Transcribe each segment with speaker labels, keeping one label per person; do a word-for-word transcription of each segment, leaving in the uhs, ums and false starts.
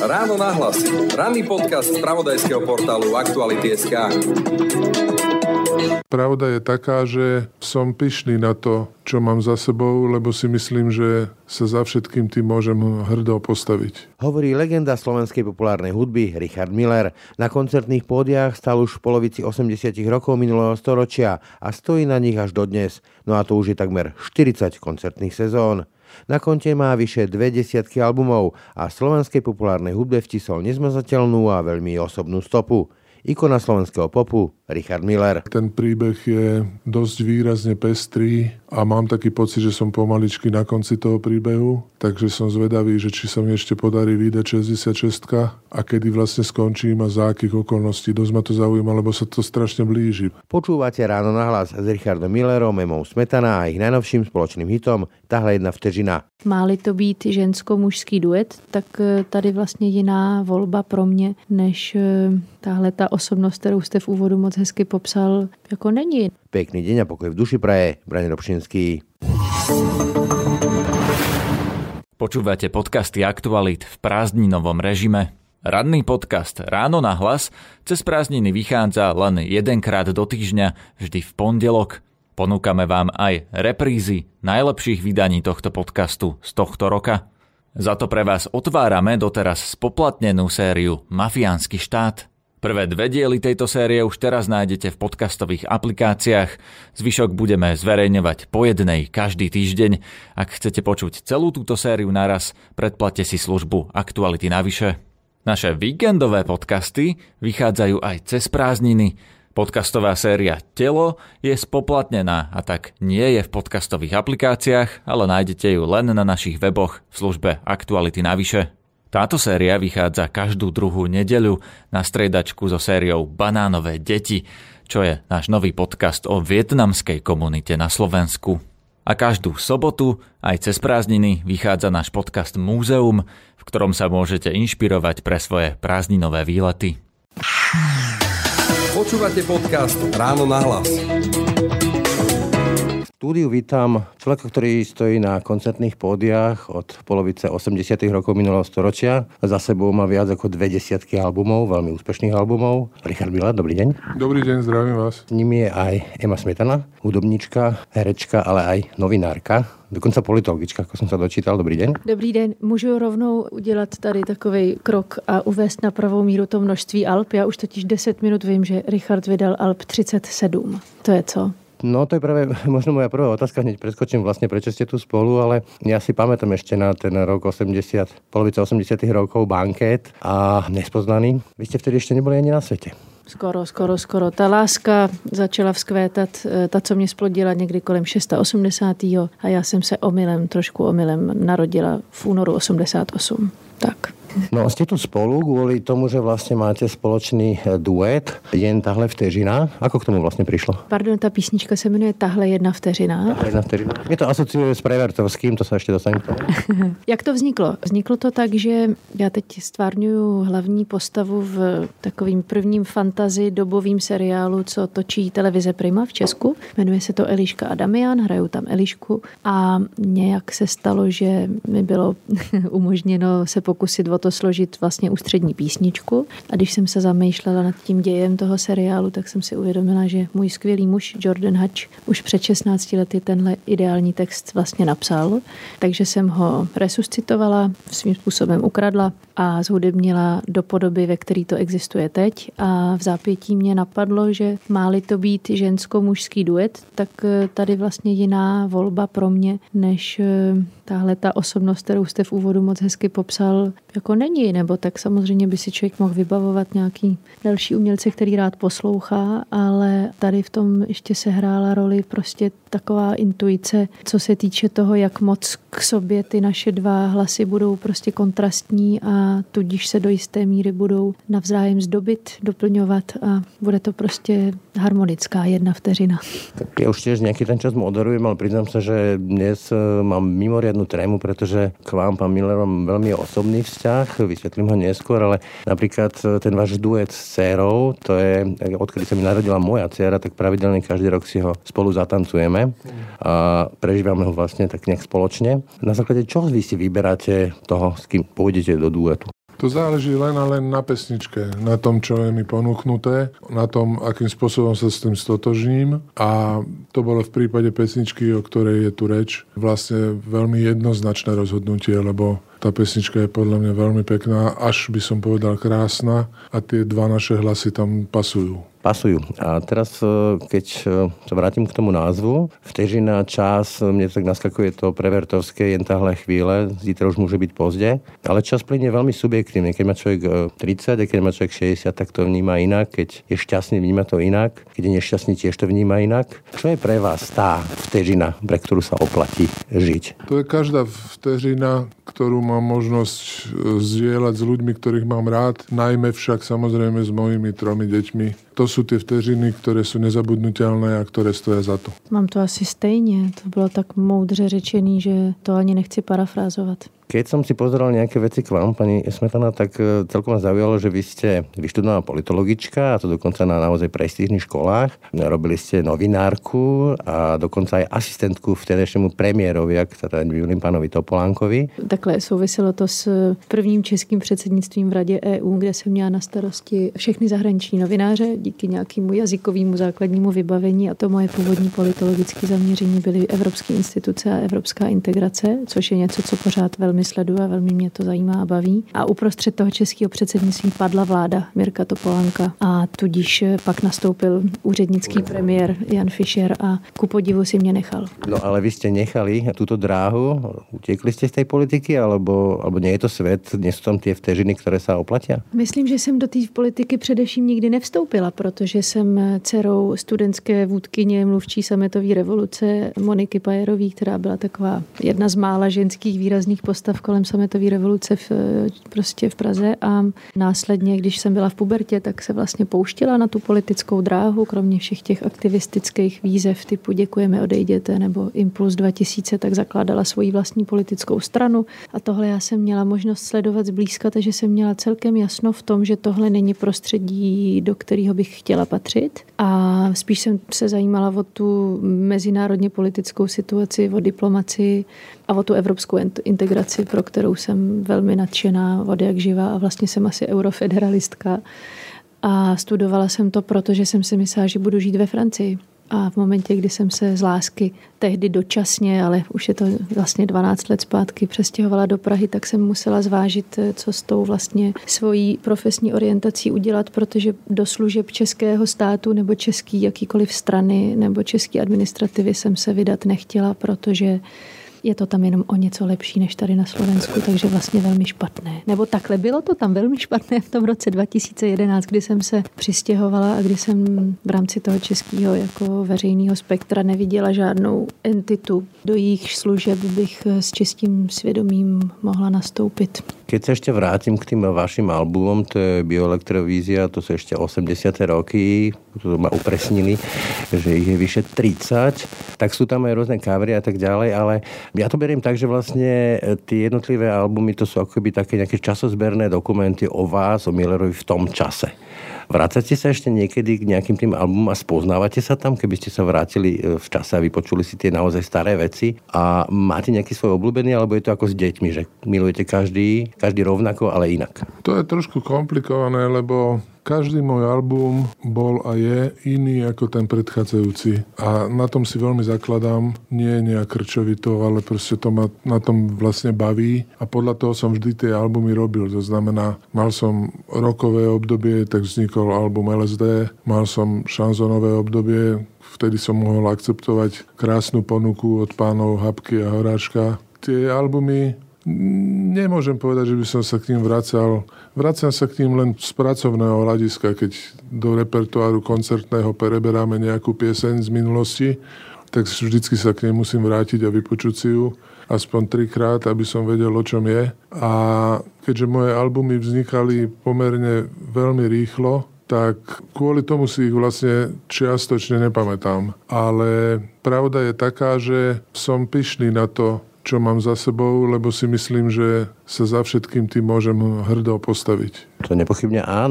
Speaker 1: Ráno nahlas. Ranný podcast z spravodajského portálu Aktuality bodka es ká.
Speaker 2: Pravda je taká, že som pyšný na to, čo mám za sebou, lebo si myslím, že sa za všetkým tým môžem hrdo postaviť.
Speaker 3: Hovorí legenda slovenskej populárnej hudby Richard Miller. Na koncertných pódiach stal už v polovici osemdesiatych rokov minulého storočia a stojí na nich až dodnes. No a to už je takmer štyridsať koncertných sezón. Na konte má vyše dve desiatky albumov a slovenskej populárnej hudbe vtisol nezmazateľnú a veľmi osobnú stopu. Ikona slovenského popu Richard Miller.
Speaker 2: Ten príbeh je dosť výrazne pestrý a mám taký pocit, že som pomaličky na konci toho príbehu, takže som zvedavý, že či sa mi ešte podarí vydať šesťdesiatšesť a kedy vlastne skončím a za akých okolností. Dosť ma to zaujíma, lebo sa to strašne blíži.
Speaker 3: Počúvate Ráno nahlas s Richardom Millerom, Emou Smetana a ich najnovším spoločným hitom Tahle jedna vteřina.
Speaker 4: Má-li to být žensko-mužský duet, tak tady vlastně jiná volba pro mě, než tahle ta osobnost, kterou jste v úvodu moc hezky popsal, jako není.
Speaker 3: Pekný deň a pokoj v duši praje Braňo Robšinský.
Speaker 5: Počúvate podcasty Aktualit v prázdninovom režime. Ranný podcast Ráno nahlas cez prázdniny vychádza len jedenkrát do týždňa, vždy v pondelok. Ponúkame vám aj reprízy najlepších vydaní tohto podcastu z tohto roka. Za to pre vás otvárame doteraz spoplatnenú sériu Mafiánsky štát. Prvé dve diely tejto série už teraz nájdete v podcastových aplikáciách. Zvyšok budeme zverejňovať po jednej každý týždeň. Ak chcete počuť celú túto sériu naraz, predplatte si službu Aktuality navyše. Naše víkendové podcasty vychádzajú aj cez prázdniny. Podcastová séria Telo je spoplatnená a tak nie je v podcastových aplikáciách, ale nájdete ju len na našich weboch v službe Aktuality navyše. Táto séria vychádza každú druhú nedeľu na striedačku so sériou Banánové deti, čo je náš nový podcast o vietnamskej komunite na Slovensku. A každú sobotu, aj cez prázdniny, vychádza náš podcast Múzeum, v ktorom sa môžete inšpirovať pre svoje prázdninové výlety.
Speaker 1: Počúvate podcast Ráno nahlas.
Speaker 3: V štúdiu vítam človeka, ktorý stojí na koncertných pódiach od polovice osemdesiatych rokov minulého storočia. Za sebou má viac ako dve desiatky albumov, veľmi úspešných albumov. Richard Miller, dobrý deň.
Speaker 2: Dobrý deň, zdravím vás.
Speaker 3: S nimi je aj Ema Smetana, hudobníčka, herečka, ale aj novinárka. Dokonca politologička, ako som sa dočítal. Dobrý deň.
Speaker 4: Dobrý den. Můžu rovnou udělat tady takovej krok a uvést na pravou míru to množství alb. Já už totiž deset minut vím, že Richard vydal alb třicet sedm. To je co?
Speaker 3: No to je práve možno moja prvá otázka, hneď preskočím vlastne, prečo ste tu spolu, ale ja si pamätám ešte na ten rok osemdesiat, polovica osemdesiatych rokov, Banket a Nespoznaný. Vy ste vtedy ešte neboli ani na svete.
Speaker 4: Skoro, skoro, skoro. Ta láska začala vzkvétat, ta, co mě splodila někdy kolem osmdesátého šestého a já jsem se omylem, trošku omylem narodila v únoru osmdesát osm. Tak.
Speaker 3: No ste tu spolu kvôli tomu, že vlastne máte spoločný duet Jen tahle vteřina. Ako k tomu vlastne prišlo?
Speaker 4: Pardon, ta písnička se jmenuje Tahle jedna vteřina.
Speaker 3: Tahle jedna vteřina. Je to asociuje s Prevertovským, to sa ešte dostanem k tomu.
Speaker 4: Jak to vzniklo? Vzniklo to tak, že já teď stvárňuju hlavní postavu v takovým prvním fantasy dobovým seriálu, co točí televize Prima v Česku. Jmenuje se to Eliška a Damian, hrajou tam Elišku a nějak se stalo, že mi bylo umožněno se pokusit o to složit vlastně ústřední písničku. A když jsem se zamýšlela nad tím dějem toho seriálu, tak jsem si uvědomila, že můj skvělý muž Jordan Hatch už před šestnácti lety tenhle ideální text vlastně napsal. Takže jsem ho resuscitovala, svým způsobem ukradla a zhudebnila do podoby, ve který to existuje teď. A v zápětí mě napadlo, že má-li to být žensko-mužský duet, tak tady vlastně jiná volba pro mě, než tahle ta osobnost, kterou jste v úvodu moc hezky popsal, jako není, nebo tak samozřejmě by si člověk mohl vybavovat nějaký další umělce, který rád poslouchá, ale tady v tom ještě se hrála roli prostě taková intuice, co se týče toho, jak moc k sobě ty naše dva hlasy budou prostě kontrastní a tudíž se do jisté míry budou navzájem zdobit, doplňovat a bude to prostě harmonická jedna vteřina.
Speaker 3: Tak ja už tiež nejaký ten čas moderujem, ale priznám sa, že dnes mám mimoriadnu trému, pretože k vám, pán Miller, mám veľmi osobný vzťah, vysvetlím ho neskôr, ale napríklad ten váš duet s dcérou, to je, odkedy sa mi narodila moja dcéra, tak pravidelne každý rok si ho spolu zatancujeme a prežívame ho vlastne tak nejak spoločne. Na základe čoho vy si vyberáte toho, s kým pôjdete do duetu?
Speaker 2: To záleží len a len na pesničke, na tom, čo je mi ponúknuté, na tom, akým spôsobom sa s tým stotožním. A to bolo v prípade pesničky, o ktorej je tu reč, vlastne veľmi jednoznačné rozhodnutie, lebo tá pesnička je podľa mňa veľmi pekná, až by som povedal krásna a tie dva naše hlasy tam pasujú.
Speaker 3: Pasujú. A teraz, keď sa vrátim k tomu názvu, Vteřina, čas, mne tak naskakuje to prevertovské, jen tahle chvíle, zítra už môže byť pozde, ale čas plynie veľmi subjektívne. Keď má človek tridsať a keď má človek šesťdesiat, tak to vníma inak, keď je šťastný, vníma to inak, keď je nešťastný, tiež to vníma inak. Čo je pre vás tá vteřina, pre ktorú sa oplatí žiť?
Speaker 2: To je každá vteřina, ktorú mám možnosť zdieľať s ľuďmi, ktorých mám rád, najmä však samozrejme s mojimi tromi deťmi. To sú tie vteřiny, ktoré sú nezabudnutelné a ktoré stoja za to.
Speaker 4: Mám to asi stejně. To bylo tak moudře řečený, že to ani nechci parafrázovat.
Speaker 3: Keď som si pozeral nejaké veci k vám, pani Smetana, tak celkom ma zaujalo, že vy ste vyštudovaná politologička, a to dokonca na naozaj prestížnych školách. Robili ste novinárku a dokonca aj asistentku vtedejšiemu premiérovi, ak teda bývalým pánovi Topolánkovi.
Speaker 4: Takhle souviselo to s prvním českým předsednictvím v Radě E U, kde jsem měla na starosti všechny zahraniční novináře díky nějakému jazykovému základnímu vybavení, a to moje původní politologické zaměření byly evropské instituce a evropská integrace, což je něco, co pořád velmi sleduju a velmi mě to zajímá a baví. A uprostřed toho českého předsednictví padla vláda Mirka Topolánka a tudíž pak nastoupil úřednický premiér Jan Fischer a ku podivu si mě nechal.
Speaker 3: No ale vy ste nechali túto dráhu, utiekli ste z tej politiky, alebo, alebo nie je to svet, nie sú tam tie vteřiny, ktoré sa oplatia?
Speaker 4: Myslím, že jsem do té politiky především nikdy nevstoupila, protože jsem dcerou studentské vůdkyně mluvčí sametové revoluce Moniky Pajerový, která byla taková jedna z mála ženských výrazných postav kolem sametové revoluce v, prostě v Praze, a následně, když jsem byla v pubertě, tak se vlastně pouštila na tu politickou dráhu, kromě všech těch aktivistických výzev typu Děkujeme, odejděte nebo Impuls dva tisíce, tak zakládala svoji vlastní politickou stranu, a tohle já jsem měla možnost sledovat zblízka, takže jsem měla celkem jasno v tom, že tohle není prostředí, do kterého bych chtěla patřit, a spíš jsem se zajímala o tu mezinárodně politickou situaci, o diplomacii a o tu evropskou integraci, pro kterou jsem velmi nadšená od jak živa, a vlastně jsem asi eurofederalistka. A studovala jsem to, protože jsem si myslela, že budu žít ve Francii. A v momentě, kdy jsem se z lásky tehdy dočasně, ale už je to vlastně dvanáct let zpátky, přestěhovala do Prahy, tak jsem musela zvážit, co s tou vlastně svojí profesní orientací udělat, protože do služeb českého státu nebo český jakýkoliv strany nebo české administrativy jsem se vydat nechtěla, protože je to tam jenom o něco lepší než tady na Slovensku, takže vlastně velmi špatné. Nebo takhle, bylo to tam velmi špatné v tom roce dva tisíce jedenáct, kdy jsem se přistěhovala a kdy jsem v rámci toho českého jako veřejného spektra neviděla žádnou entitu, do jejich služeb bych s čistým svědomím mohla nastoupit.
Speaker 3: Keď sa ešte vrátim k tým vašim albumom, to je Bioelektrovízia, to sú ešte osemdesiate roky, to ma upresnili, že ich je vyše tridsať, tak sú tam aj rôzne covery a tak ďalej, ale ja to beriem tak, že vlastne tie jednotlivé albumy to sú akoby také nejaké časozberné dokumenty o vás, o Millerovi v tom čase. Vracate sa ešte niekedy k nejakým tým albumom a spoznávate sa tam, keby ste sa vrátili v čase a vypočuli si tie naozaj staré veci, a máte nejaký svoj obľúbený, alebo je to ako s deťmi, že milujete každý, každý rovnako, ale inak?
Speaker 2: To je trošku komplikované, lebo každý môj album bol a je iný ako ten predchádzajúci. A na tom si veľmi zakladám. Nie nejak krčovito, ale proste to ma na tom vlastne baví. A podľa toho som vždy tie albumy robil. To znamená, mal som rockové obdobie, tak vznikol album el es dé. Mal som šanzonové obdobie, vtedy som mohol akceptovať krásnu ponuku od pánov Habky a Horáčka. Tie albumy, nemôžem povedať, že by som sa k ním vracal. Vracam sa k ním len z pracovného hľadiska, keď do repertoáru koncertného preberáme nejakú pieseň z minulosti, tak vždycky sa k nej musím vrátiť a vypočuť si ju aspoň trikrát, aby som vedel, o čom je. A keďže moje albumy vznikali pomerne veľmi rýchlo, tak kvôli tomu si ich vlastne čiastočne nepamätám. Ale pravda je taká, že som pyšný na to, čo mám za sebou, lebo si myslím, že sa za všetkým tým môžem hrdo postaviť.
Speaker 3: To nepochybne áno.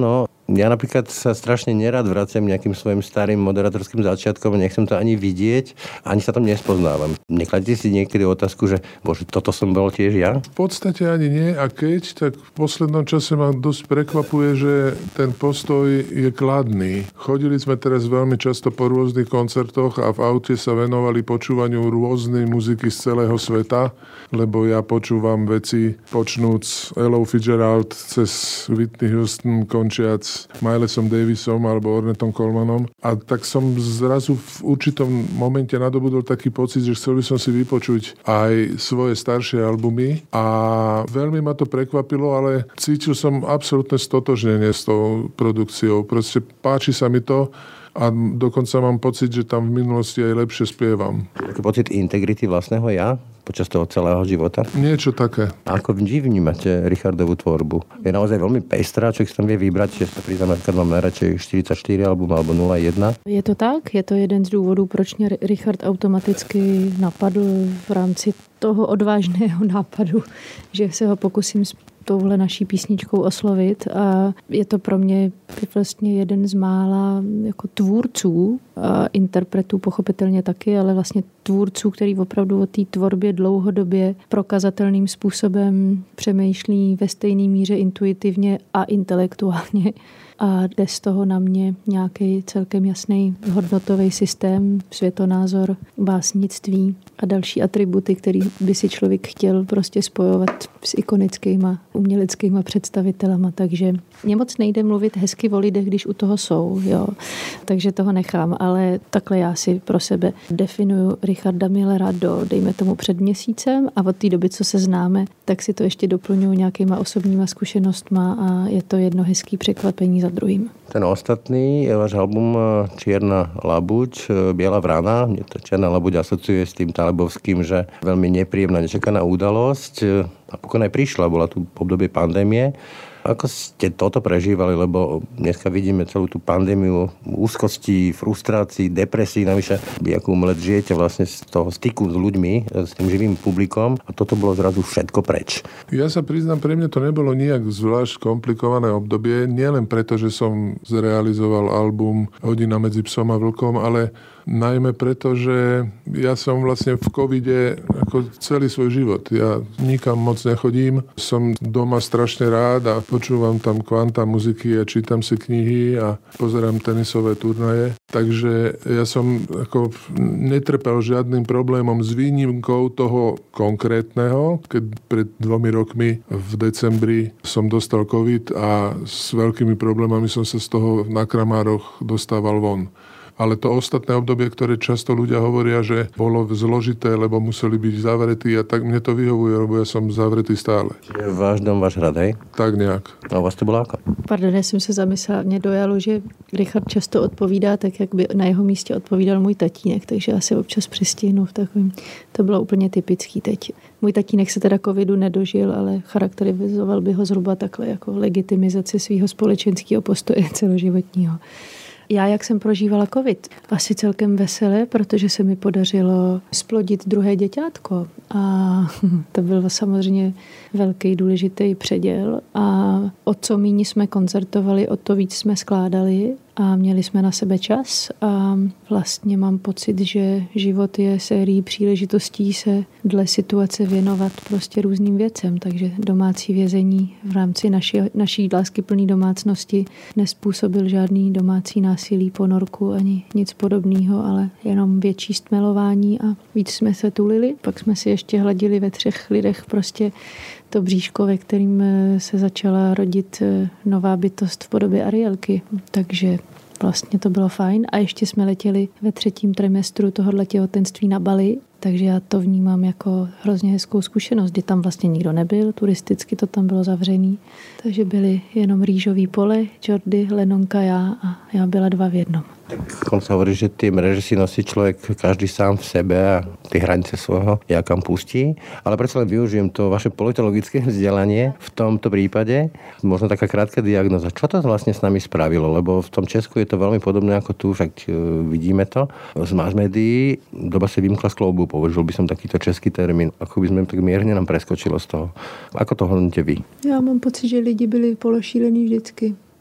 Speaker 3: Ja napríklad sa strašne nerad vraciam nejakým svojim starým moderátorským začiatkom, nechcem to ani vidieť, ani sa tam nespoznávam. Nekladíte si niekedy otázku, že bože, toto som bol tiež ja?
Speaker 2: V podstate ani nie, a keď, tak v poslednom čase ma dosť prekvapuje, že ten postoj je kladný. Chodili sme teraz veľmi často po rôznych koncertoch a v aute sa venovali počúvaniu rôznej muziky z celého sveta, lebo ja počúvam veci počnúc Ellou Fitzgerald cez Whitney Houston, končiac Milesom Davisom alebo Ornetom Colemanom. A tak som zrazu v určitom momente nadobudol taký pocit, že chcel by som si vypočuť aj svoje staršie albumy a veľmi ma to prekvapilo, ale cítil som absolútne stotožnenie s tou produkciou. Proste páči sa mi to a dokonca mám pocit, že tam v minulosti aj lepšie spievam.
Speaker 3: Taký pocit integrity vlastného ja počas toho celého života?
Speaker 2: Niečo také.
Speaker 3: A ako vy vnímate Richardovú tvorbu? Je naozaj veľmi pestrá, človek si tam vie vybrať, že sa priznám, napríklad mám najradšej štyridsaťštyri album alebo nula jedna.
Speaker 4: Je to tak, je to jeden z důvodů, proč mě Richard automaticky napadl v rámci toho odvážného nápadu, že se ho pokusím s touhle naší písničkou oslovit, a je to pro mě vlastně jeden z mála jako tvůrců a interpretů pochopitelně taky, ale vlastně tvůrců, který opravdu o té tvorbě dlouhodobě prokazatelným způsobem přemýšlí ve stejné míře intuitivně a intelektuálně. A jde z toho na mě nějaký celkem jasný hodnotový systém, světonázor, básnictví a další atributy, který by si člověk chtěl prostě spojovat s ikonickýma uměleckýma představitelama. Takže mě moc nejde mluvit hezky o lidech, když u toho jsou. Jo. Takže toho nechám, ale takhle já si pro sebe definuju Richarda Millera do, dejme tomu, před měsícem, a od té doby, co se známe, tak si to ještě doplňuji nějakýma osobníma zkušenostma a je to jedno hezký překvapení za druhým.
Speaker 3: Ten ostatný je váš album Čierna labuť, Biela vrana. Mne to Čierna labuť asociuje s tým talebovským, že veľmi nepríjemná, nečakaná udalosť. Napokon aj prišla, bola tu obdobie pandémie. Ako ste toto prežívali, lebo dneska vidíme celú tú pandémiu úzkosti, frustrácií, depresí, navyše vy ako umelec žijete vlastne z toho styku s ľuďmi, s tým živým publikom, a toto bolo zrazu všetko preč.
Speaker 2: Ja sa priznám, pre mňa to nebolo nijak zvlášť komplikované obdobie, nielen preto, že som zrealizoval album Hodina medzi psom a vlkom, ale najmä preto, že ja som vlastne v covide ako celý svoj život. Ja nikam moc nechodím, som doma strašne rád a počúvam tam kvanta muziky a čítam si knihy a pozerám tenisové turnaje. Takže ja som ako netrpel žiadnym problémom s výnimkou toho konkrétneho, keď pred dvomi rokmi v decembri som dostal covid a s veľkými problémami som sa z toho na Kramároch dostával von. Ale to ostatné obdobie, ktoré často ľudia hovoria, že bolo zložité, lebo museli byť zavretí, a tak mne to vyhovuje, lebo ja som zavretý stále.
Speaker 3: Čiže váš dom, váš hrad, hej?
Speaker 2: Tak nejak.
Speaker 3: A u vás to bylo ako?
Speaker 4: Pardon, já jsem se zamyslela, mě dojalo, že Richard často odpovídá tak, jak by na jeho místě odpovídal můj tatínek, takže já se občas přistihnu v takovém. To bylo úplně typický teď. Můj tatínek se teda covidu nedožil, ale charakterizoval by ho zhruba takhle jako legitimizaci svého společenského postoje celoživotního. Já, jak jsem prožívala covid, asi celkem veselé, protože se mi podařilo splodit druhé děťátko. A to byl samozřejmě velký důležitý předěl. A o co míň jsme koncertovali, o to víc jsme skládali a měli jsme na sebe čas. A vlastně mám pocit, že život je sérií příležitostí se dle situace věnovat prostě různým věcem. Takže domácí vězení v rámci naší, naší láskyplné domácnosti nespůsobil žádný domácí násilí, ponorku ani nic podobného, ale jenom větší stmelování a víc jsme se tulili. Pak jsme si ještě hladili ve třech lidech prostě to bříško, ve kterým se začala rodit nová bytost v podobě Arielky. Takže vlastně to bylo fajn. A ještě jsme letěli ve třetím trimestru tohohle těhotenství na Bali, takže já to vnímám jako hrozně hezkou zkušenost, kdy tam vlastně nikdo nebyl, turisticky to tam bylo zavřený. Takže byly jenom rýžový pole, Jordy, Lenonka, já a já byla dva v jednom.
Speaker 3: Tak on sa hovorí, že tie mreže si nosí človek každý sám v sebe a tie hranice svojho ja kam pustí. Ale predsa len využijem to vaše politologické vzdelanie v tomto prípade. Možno taká krátka diagnoza. Čo to vlastne s nami spravilo? Lebo v tom Česku je to veľmi podobné ako tu, však vidíme to. Z mass médií doba sa vymkla z kloubu, použil by som takýto český termín. Ako by sme tak mierne nám preskočilo z toho. Ako to hodnotíte vy?
Speaker 4: Já mám pocit, že lidi byli pološílení vždycky.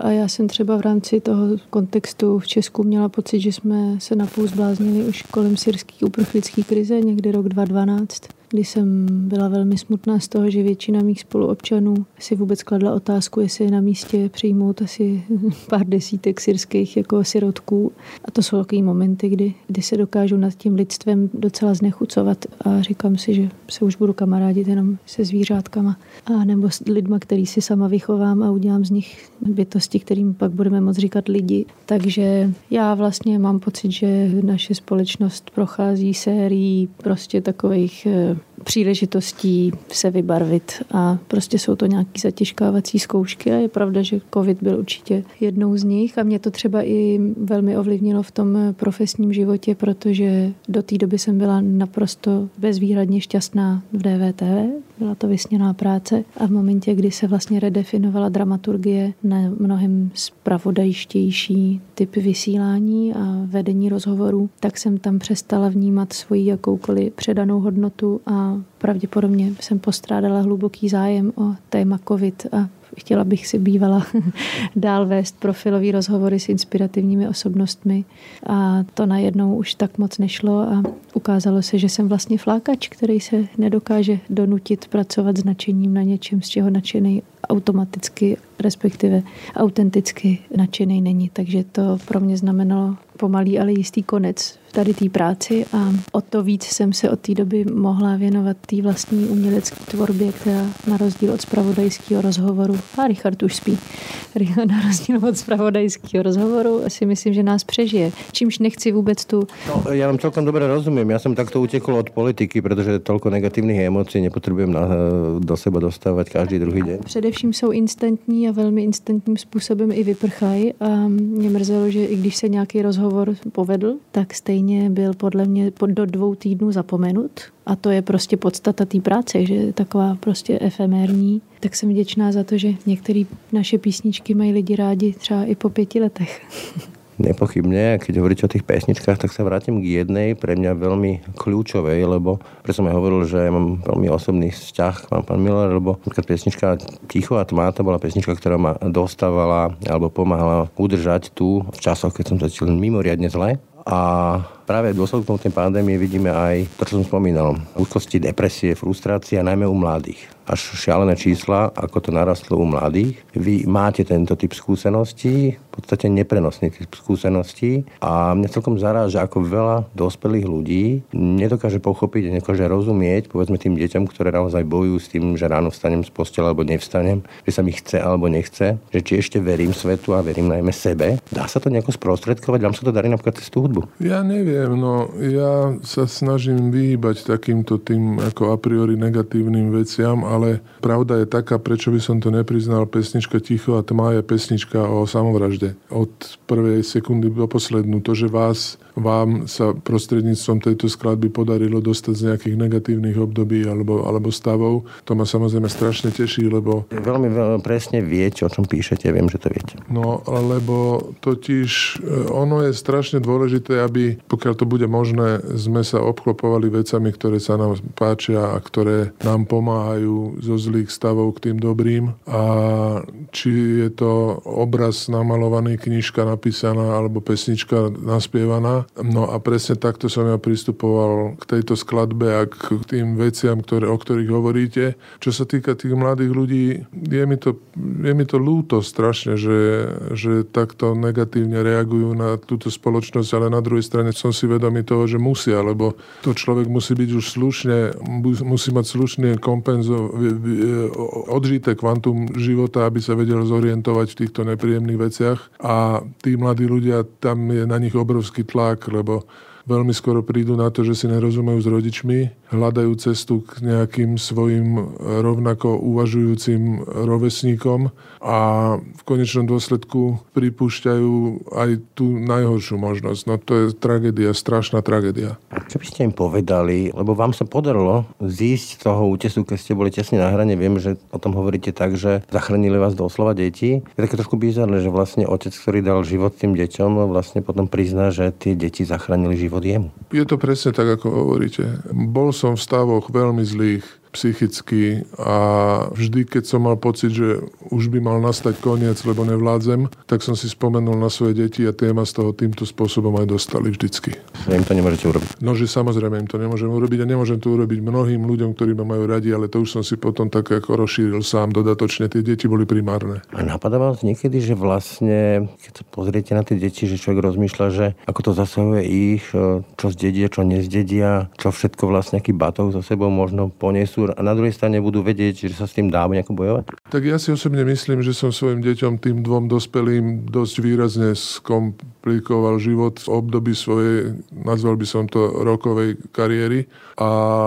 Speaker 4: A já jsem třeba v rámci toho kontextu v Česku měla pocit, že jsme se napůl zbláznili už kolem syrské uprchlické krize, někdy rok dva tisíce dvanáct, kdy jsem byla velmi smutná z toho, že většina mých spoluobčanů si vůbec kladla otázku, jestli je na místě přijmout asi pár desítek syrských jako sirotků. A to jsou takové momenty, kdy, kdy se dokážu nad tím lidstvem docela znechucovat a říkám si, že se už budu kamarádit jenom se zvířátkama a nebo s lidma, který si sama vychovám a udělám z nich bytosti, kterým pak budeme moct říkat lidi. Takže já vlastně mám pocit, že naše společnost prochází sérií prostě takových příležitostí se vybarvit a prostě jsou to nějaký zatěžkávací zkoušky a je pravda, že covid byl určitě jednou z nich a mě to třeba i velmi ovlivnilo v tom profesním životě, protože do té doby jsem byla naprosto bezvýhradně šťastná v D V T V, byla to vysněná práce a v momentě, kdy se vlastně redefinovala dramaturgie na mnohem zpravodajštější typ vysílání a vedení rozhovorů, tak jsem tam přestala vnímat svoji jakoukoliv předanou hodnotu a pravděpodobně jsem postrádala hluboký zájem o téma covid a chtěla bych si bývala dál vést profilový rozhovory s inspirativními osobnostmi a to najednou už tak moc nešlo a ukázalo se, že jsem vlastně flákač, který se nedokáže donutit pracovat s nadšením na něčem, z čeho nadšený automaticky, respektive autenticky nadšený není. Takže to pro mě znamenalo pomalý, ale jistý konec v tady té práci a o to víc jsem se od té doby mohla věnovat té vlastní umělecké tvorbě, která na rozdíl od zpravodajského rozhovoru, a Richard už spí, na rozdíl od zpravodajského rozhovoru si myslím, že nás přežije. Čímž nechci vůbec tu...
Speaker 3: No, ja vám celkom dobre rozumiem. Ja som takto utekol od politiky, pretože toľko negatívnych emócií nepotrebujem na, do seba dostávať každý druhý deň.
Speaker 4: Především jsou instantní a velmi instantním způsobem i vyprchají a mě mrzelo, že i když se nějaký rozhovor povedl, tak stejně byl podle mě do dvou týdnů zapomenut. A to je prostě podstata té práce, že je taková prostě efemérní. Tak jsem vděčná za to, že některé naše písničky mají lidi rádi třeba i po pěti letech.
Speaker 3: Nepochybne, keď hovoríte o tých pesničkách, tak sa vrátim k jednej pre mňa veľmi kľúčovej, lebo preto som aj hovoril, že ja mám veľmi osobný vzťah, mám pán Miller, lebo napríklad pesnička Ticho a tma, to bola pesnička, ktorá ma dostávala alebo pomáhala udržať tu v časoch, keď som začal mimoriadne zle. A práve v dôsledku tej pandémie vidíme aj to, čo som spomínal. Úzkosti, depresie, frustrácia, najmä u mladých. Až šialené čísla, ako to narastlo u mladých. Vy máte tento typ skúseností, v podstate neprenosný typ skúseností a mňa celkom zaráža, ako veľa dospelých ľudí nedokáže pochopiť a nedokáže rozumieť, povedzme tým deťom, ktoré naozaj bojujú s tým, že ráno vstanem z postele alebo nevstanem, že sa mi chce alebo nechce, že či ešte verím svetu a verím najmä sebe. Dá sa to nejako sprostredkovať? Vám sa to darí napríklad cez tú hudbu?
Speaker 2: Ja neviem, no ja sa snažím vyhýbať takýmto tým ako a priori negatívnym veciam, ale pravda je taká, prečo by som to nepriznal, pesnička Ticho a tma je pesnička o samovražde. Od prvej sekundy do poslednú. To, že vás, vám sa prostredníctvom tejto skladby podarilo dostať z nejakých negatívnych období alebo, alebo stavov, to ma samozrejme strašne teší, lebo...
Speaker 3: Veľmi, veľmi presne viete, o čom píšete, viem, že to viete.
Speaker 2: No, lebo totiž ono je strašne dôležité, aby, pokiaľ to bude možné, sme sa obklopovali vecami, ktoré sa nám páčia a ktoré nám pomáhajú zo zlých stavov k tým dobrým. A či je to obraz namalovaný, knižka napísaná alebo pesnička naspievaná. No a presne takto som ja pristupoval k tejto skladbe a k tým veciam, ktoré, o ktorých hovoríte. Čo sa týka tých mladých ľudí, je mi to, je mi to ľúto strašne, že, že takto negatívne reagujú na túto spoločnosť, ale na druhej strane som si vedomý toho, že musia, lebo to človek musí byť už slušne, musí mať slušne kompenzo, odžité kvantum života, aby sa vedel zorientovať v týchto nepríjemných veciach. A tí mladí ľudia, tam je na nich obrovský tlak, lebo veľmi skoro prídu na to, že si nerozumejú s rodičmi, hľadajú cestu k nejakým svojim rovnako uvažujúcim rovesníkom a v konečnom dôsledku pripúšťajú aj tú najhoršiu možnosť. No to je tragédia, strašná tragédia.
Speaker 3: A čo by ste im povedali, lebo vám sa podarilo zísť z toho útesu, keď ste boli tesne na hrane, viem, že o tom hovoríte tak, že zachránili vás doslova deti. Je také trošku bizarné, že vlastne otec, ktorý dal život tým deťom, vlastne potom prizná, že tie deti zachránili život jemu.
Speaker 2: Je to presne tak, ako hovoríte. Bol som v stavoch veľmi zlých. psychicky a vždy, keď som mal pocit, že už by mal nastať koniec, lebo nevládzem, tak som si spomenul na svoje deti a tie ma z toho týmto spôsobom aj dostali vždycky.
Speaker 3: Že im to nemôžete urobiť?
Speaker 2: No, že samozrejme im to nemôžem urobiť a nemôžem to urobiť mnohým ľuďom, ktorí ma majú radi, ale to už som si potom tak ako rozšíril sám dodatočne. Tie deti boli primárne.
Speaker 3: A napadá vás niekedy, že vlastne, keď sa pozriete na tie deti, že človek rozmýšľa, že ako to zasahuje ich, čo zdedia, čo nezdedia, čo všetko vlastne aký batov za sebou možno ponesú a na druhej strane budú vedieť, že sa s tým dá nejako bojovať?
Speaker 2: Tak ja si osobne myslím, že som svojim deťom, tým dvom dospelým, dosť výrazne skomplikoval život v období svojej, nazval by som to, rokovej kariéry. A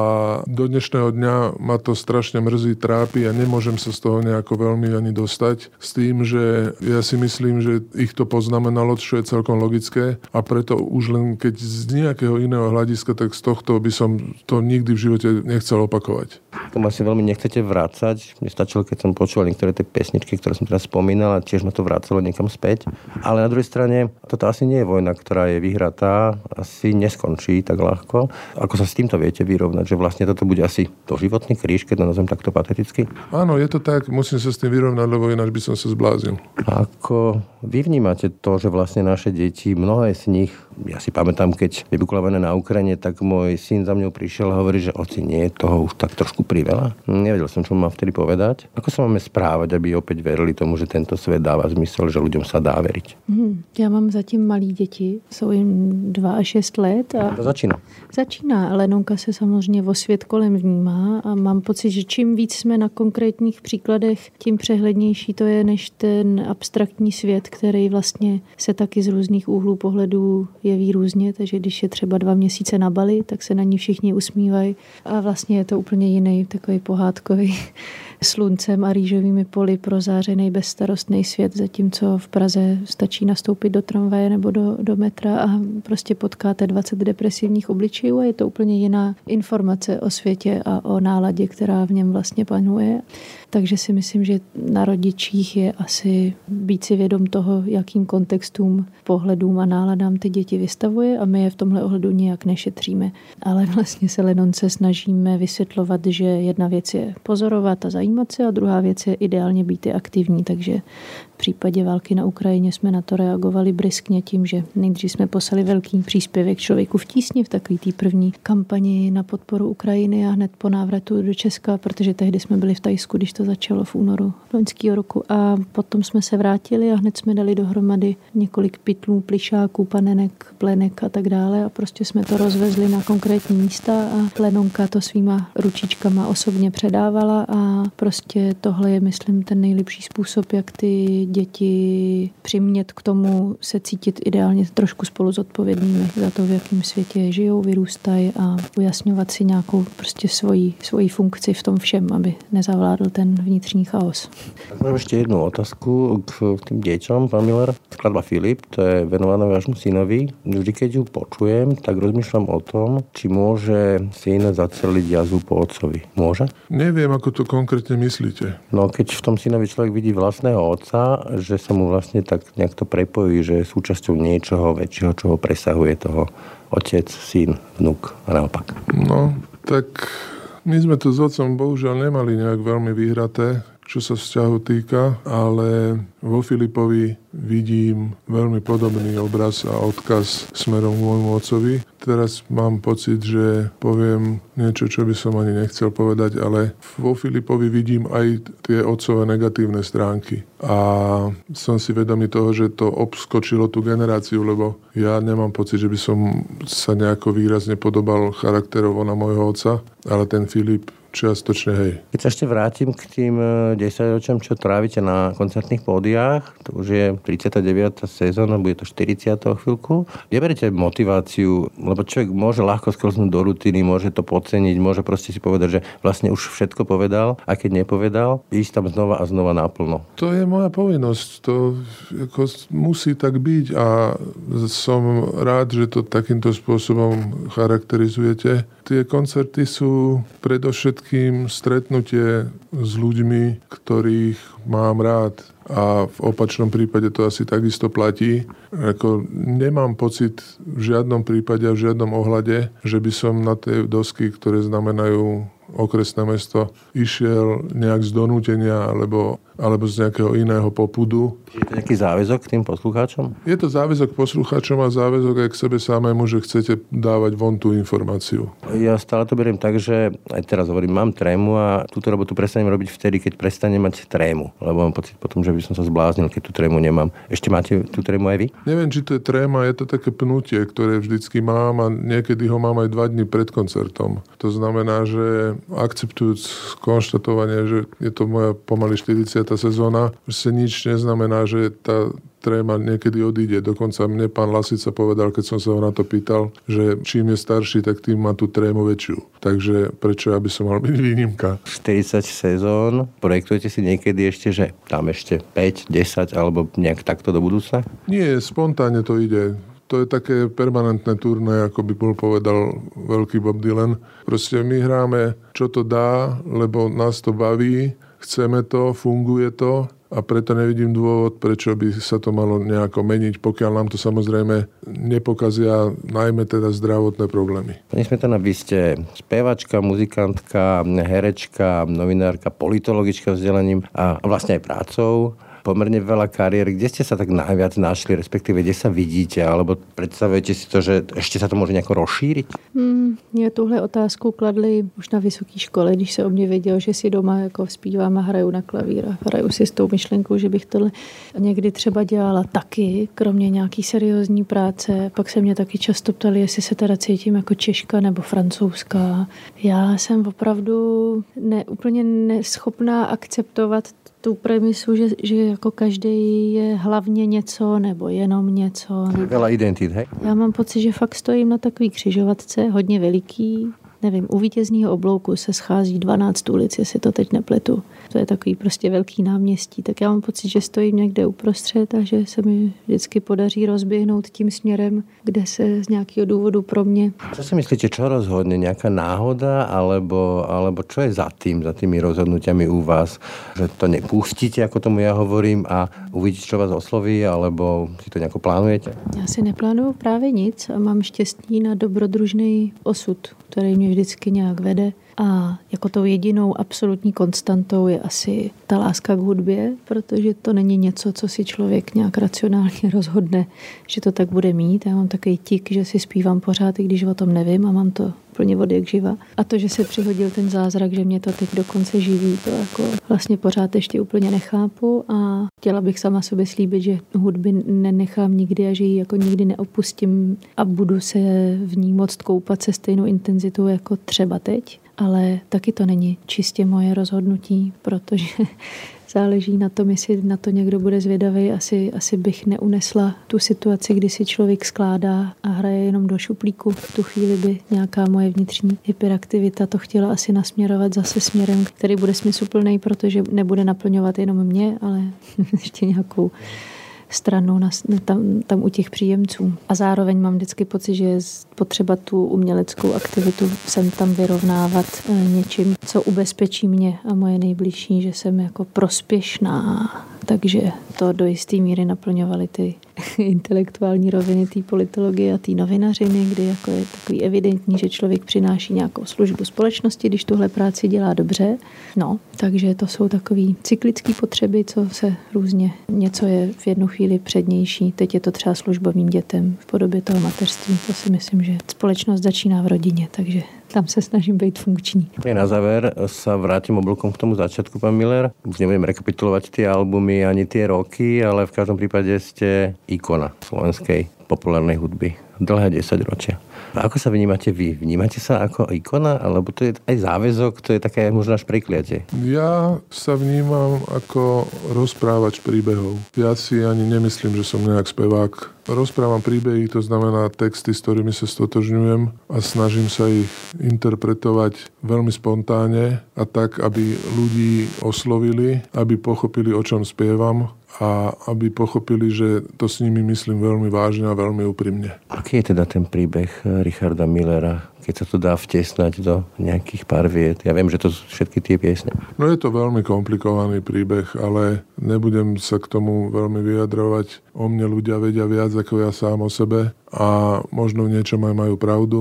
Speaker 2: do dnešného dňa ma to strašne mrzí, trápi a nemôžem sa z toho nejako veľmi ani dostať. S tým, že ja si myslím, že ich to poznamenalo, čo je celkom logické a preto už len keď z nejakého iného hľadiska, tak z tohto by som to nikdy v živote nechcel opakovať.
Speaker 3: Tomu asi veľmi nechcete vrácať. Mne stačilo, keď som počúval niektoré tie pesničky, ktoré som teraz spomínal a tiež ma to vracalo niekam späť. Ale na druhej strane, toto asi nie je vojna, ktorá je vyhratá, asi neskončí tak ľahko. Ako sa s týmto viete vyrovnať, že vlastne toto bude asi doživotný kríž, keď to nazvem takto pateticky?
Speaker 2: Áno, je to tak, musím sa s tým vyrovnať, lebo ináč by som sa zbláznil.
Speaker 3: Ako vy vnímate to, že vlastne naše deti, mnohé z nich, ja si pamätám, keď vybuchla vojna na Ukrajine, tak môj syn za mňou prišiel a hovorí, že oci, nie je toho už tak trošku priveľa. Nevedel som, čo mám vtedy povedať. Ako sa máme správať, aby opäť verili tomu, že tento svet dáva zmysel, že ľuďom sa dá veriť?
Speaker 4: Hmm, já mám zatím malí děti, jsou jim dva a šest let. A
Speaker 3: to začíná.
Speaker 4: Začíná, ale Lenonka se samozřejmě o svět kolem vnímá a mám pocit, že čím víc jsme na konkrétních příkladech, tím přehlednější to je, než ten abstraktní svět, který vlastně se taky z různých úhlů pohledů jeví různě, takže když je třeba dva měsíce na Bali, tak se na ní všichni usmívají a vlastně je to úplně jiný, takový pohádkový sluncem a rýžovými poli prozářený bezstarostný svět, zatímco v Praze stačí nastoupit do tramvaje nebo do, do metra a prostě potkáte dvacet depresivních obličejů a je to úplně jiná informace o světě a o náladě, která v něm vlastně panuje. Takže si myslím, že na rodičích je asi být si vědom toho, jakým kontextům, pohledům a náladám ty děti vystavuje a my je v tomhle ohledu nijak nešetříme. Ale vlastně se Lenonce snažíme vysvětlovat, že jedna věc je pozorovat a zajímat se a druhá věc je ideálně být i aktivní. Takže v případě války na Ukrajině jsme na to reagovali bryskně tím, že nejdřív jsme poslali velký příspěvek Člověku v tísni v takový té první kampani na podporu Ukrajiny a hned po návratu do Česka, protože tehdy jsme byli v Thajsku, když to začalo v únoru loňského roku. A potom jsme se vrátili a hned jsme dali dohromady několik pytlů, plišáků, panenek, plenek a tak dále a prostě jsme to rozvezli na konkrétní místa a Lenonka to svýma ručičkama osobně předávala a prostě tohle je, myslím, ten nejlepší způsob, jak ty děti přimět k tomu se cítit ideálně trošku spolu zodpovědnými za to, v jakém světě žijou, vyrůstají a ujasňovat si nějakou prostě svoji, svoji funkci v tom všem, aby nezavládl ten vnitřní chaos.
Speaker 3: Tak mám ešte jednu otázku k tým deťom, pán Miller. Skladba Filip, to je venovaná vášmu synovi. Vždy, keď ju počujem, tak rozmýšľam o tom, či môže syn zaceliť jazvu po otcovi. Môže?
Speaker 2: Neviem, ako to konkrétne myslíte.
Speaker 3: No, keď v tom synovi človek vidí vlastného otca, že sa mu vlastne tak nejak to prepojí, že je súčasťou niečoho väčšieho, čo ho presahuje toho otec, syn, vnuk a naopak.
Speaker 2: No, tak my sme to s otcom bohužiaľ nemali nejak veľmi vyhraté, čo sa vzťahu týka, ale vo Filipovi vidím veľmi podobný obraz a odkaz smerom k môjmu otcovi. Teraz mám pocit, že poviem niečo, čo by som ani nechcel povedať, ale vo Filipovi vidím aj tie otcové negatívne stránky. A som si vedomý toho, že to obskočilo tú generáciu, lebo ja nemám pocit, že by som sa nejako výrazne podobal charakterovo na môjho otca, ale ten Filip čiastočne, hej.
Speaker 3: Keď sa ešte vrátim k tým desaťročiam, čo trávite na koncertných pódiách, to už je tridsiata deviata sezóna, bude to štyridsiata chvíľku. Kde beriete motiváciu, lebo človek môže ľahko sklznúť do rutiny, môže to podceniť, môže proste si povedať, že vlastne už všetko povedal, a keď nepovedal, ísť tam znova a znova naplno.
Speaker 2: To je moja povinnosť, to ako musí tak byť a som rád, že to takýmto spôsobom charakterizujete. Tie koncerty sú predovšetkým stretnutie s ľuďmi, ktorých mám rád. A v opačnom prípade to asi takisto platí. Ako nemám pocit v žiadnom prípade a v žiadnom ohľade, že by som na tie dosky, ktoré znamenajú okresné mesto, išiel nejak z donútenia alebo, alebo z nejakého iného popudu.
Speaker 3: Je to nejaký záväzok k tým poslucháčom?
Speaker 2: Je to záväzok poslucháčom a záväzok aj k sebe samému, že chcete dávať von tú informáciu.
Speaker 3: Ja stále to beriem tak, že aj teraz hovorím, mám trému a túto robotu prestanem robiť vtedy, keď prestanem mať trému. Lebo mám pocit potom, že by som sa zbláznil, keď tú trému nemám. Ešte máte tú trému aj vy?
Speaker 2: Neviem, či to je tréma, je to také pnutie, ktoré vždycky mám a niekedy ho mám aj dva dni pred koncertom. To znamená, že akceptujúc konštatovanie, že je to moja pomaly štyridsiata sezóna, že nič neznamená, že tá tréma niekedy odíde. Dokonca mne pán Lasica povedal, keď som sa ho na to pýtal, že čím je starší, tak tým má tú trému väčšiu. Takže prečo aby som mal byť výnimka?
Speaker 3: štyridsať sezón, projektujete si niekedy ešte, že tam ešte päť, desať alebo nejak takto do budúcna?
Speaker 2: Nie, spontánne to ide. To je také permanentné turné, ako by bol povedal veľký Bob Dylan. Proste my hráme, čo to dá, lebo nás to baví, chceme to, funguje to a preto nevidím dôvod, prečo by sa to malo nejako meniť, pokiaľ nám to samozrejme nepokazia najmä teda zdravotné problémy.
Speaker 3: Pani Smetana, vy ste spevačka, muzikantka, herečka, novinárka, politologička vzdelaním a vlastne aj prácou. Pomerne veľa kariér. Kde ste sa tak najviac našli, respektíve kde sa vidíte, alebo predstavujete si to, že ešte sa to môže nejako rozšíriť?
Speaker 4: Hmm, mě tuhle otázku kladli už na vysoké škole, když se o mě věděl, že si doma jako zpívám a hraju na klavír a hraju si s tou myšlenkou, že bych tohle někdy třeba dělala taky, kromě nějaký seriózní práce. Pak se mě taky často ptali, jestli se teda cítím jako Češka nebo Francouzská. Já jsem opravdu ne, úplně neschopná akceptovat tu premisu, že, že jako každý je hlavně něco nebo jenom něco.
Speaker 3: Veľa identít, hej?
Speaker 4: Já mám pocit, že fakt stojím na takový křižovatce, hodně veliký. Nevím, u Vítězního oblouku se schází dvanáct ulic, jestli to teď nepletu. To je takový prostě velký náměstí. Tak já mám pocit, že stojím někde uprostřed a že se mi vždycky podaří rozběhnout tím směrem, kde se z nějakého důvodu pro mě.
Speaker 3: Čo si myslíte, čo rozhodne? Nejaká náhoda? Alebo, alebo čo je za tým, za tými rozhodnutiami u vás? Že to nepustíte, ako tomu ja hovorím, a uvidíte, čo vás osloví? Alebo si to nejako plánujete?
Speaker 4: Já si neplánuju právě nic a mám štěstí na dobrodružný osud, který mě vždycky nějak vede. A jako tou jedinou absolutní konstantou je asi ta láska k hudbě, protože to není něco, co si člověk nějak racionálně rozhodne, že to tak bude mít. Já mám takový tik, že si zpívám pořád, i když o tom nevím a mám to plně od jak živa. A to, že se přihodil ten zázrak, že mě to teď dokonce živí, to jako vlastně pořád ještě úplně nechápu a chtěla bych sama sobě slíbit, že hudby nenechám nikdy a že ji jako nikdy neopustím a budu se v ní moct koupat se stejnou intenzitou jako třeba teď. Ale taky to není čistě moje rozhodnutí, protože záleží na tom, jestli na to někdo bude zvědavý. Asi, asi bych neunesla tu situaci, kdy si člověk skládá a hraje jenom do šuplíku. V tu chvíli by nějaká moje vnitřní hyperaktivita to chtěla asi nasměrovat zase směrem, který bude smysluplný, protože nebude naplňovat jenom mě, ale ještě nějakou stranou na, tam, tam u těch příjemců. A zároveň mám vždycky pocit, že je potřeba tu uměleckou aktivitu sem tam vyrovnávat něčím, co ubezpečí mě a moje nejbližší, že jsem jako prospěšná. Takže to do jisté míry naplňovaly ty intelektuální roviny té politologie a té novinařiny, kdy jako je takový evidentní, že člověk přináší nějakou službu společnosti, když tuhle práci dělá dobře. No, takže to jsou takový cyklické potřeby, co se různě, něco je v jednu chvíli přednější. Teď je to třeba služba mým dětem v podobě toho mateřství. To si myslím, že společnost začíná v rodině, takže tam se snažím být funkční.
Speaker 3: Na záver sa vrátim oblúkom k tomu začiatku, pán Miller. Už nebudem rekapitulovať tie albumy ani tie roky, ale v každom prípade ste ikona slovenskej populárnej hudby. Dlhé desaťročia. A ako sa vnímate vy? Vnímate sa ako ikona? Alebo to je aj záväzok? To je také možno až prekliatie?
Speaker 2: Ja sa vnímam ako rozprávač príbehov. Ja si ani nemyslím, že som nejak spevák. Rozprávam príbehy, to znamená texty, s ktorými sa stotožňujem a snažím sa ich interpretovať veľmi spontánne a tak, aby ľudí oslovili, aby pochopili, o čom spievam a aby pochopili, že to s nimi myslím veľmi vážne a veľmi úprimne.
Speaker 3: Aký je teda ten príbeh Richarda Millera, keď sa to dá vtesnať do nejakých pár viet? Ja viem, že to sú všetky tie piesne.
Speaker 2: No je to veľmi komplikovaný príbeh, ale nebudem sa k tomu veľmi vyjadrovať. O mne ľudia vedia viac ako ja sám o sebe a možno v niečom aj majú pravdu.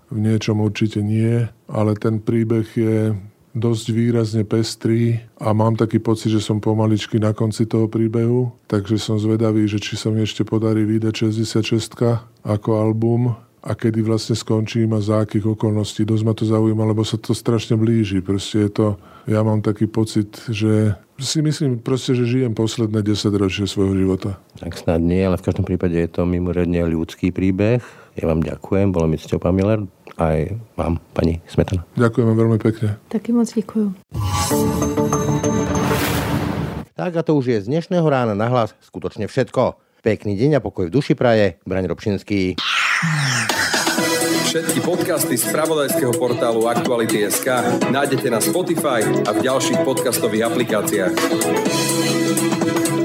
Speaker 2: v niečom určite nie, ale ten príbeh je dosť výrazne pestrý a mám taký pocit, že som pomaličky na konci toho príbehu, takže som zvedavý, že či sa mi ešte podarí vydať šesťdesiatšesť ako album a kedy vlastne skončím a za akých okolností. Dosť ma to zaujíma, lebo sa to strašne blíži. Proste je to, ja mám taký pocit, že si myslím proste, že žijem posledné desaťročie svojho života.
Speaker 3: Tak snad nie, ale v každom prípade je to mimoriadne ľudský príbeh. Ja vám ďakujem, bolo mi cťou, pán Miller, aj vám, pani Smetana.
Speaker 2: Ďakujem veľmi pekne.
Speaker 4: Taky moc děkuju.
Speaker 3: Tak a to už je z dnešného Rána na hlas skutočne všetko. Pekný deň a pokoj v duši praje, Braň Robšinský.
Speaker 1: Všetky podcasty z spravodajského portálu Aktuality bodka es ká nájdete na Spotify a v ďalších podcastových aplikáciách.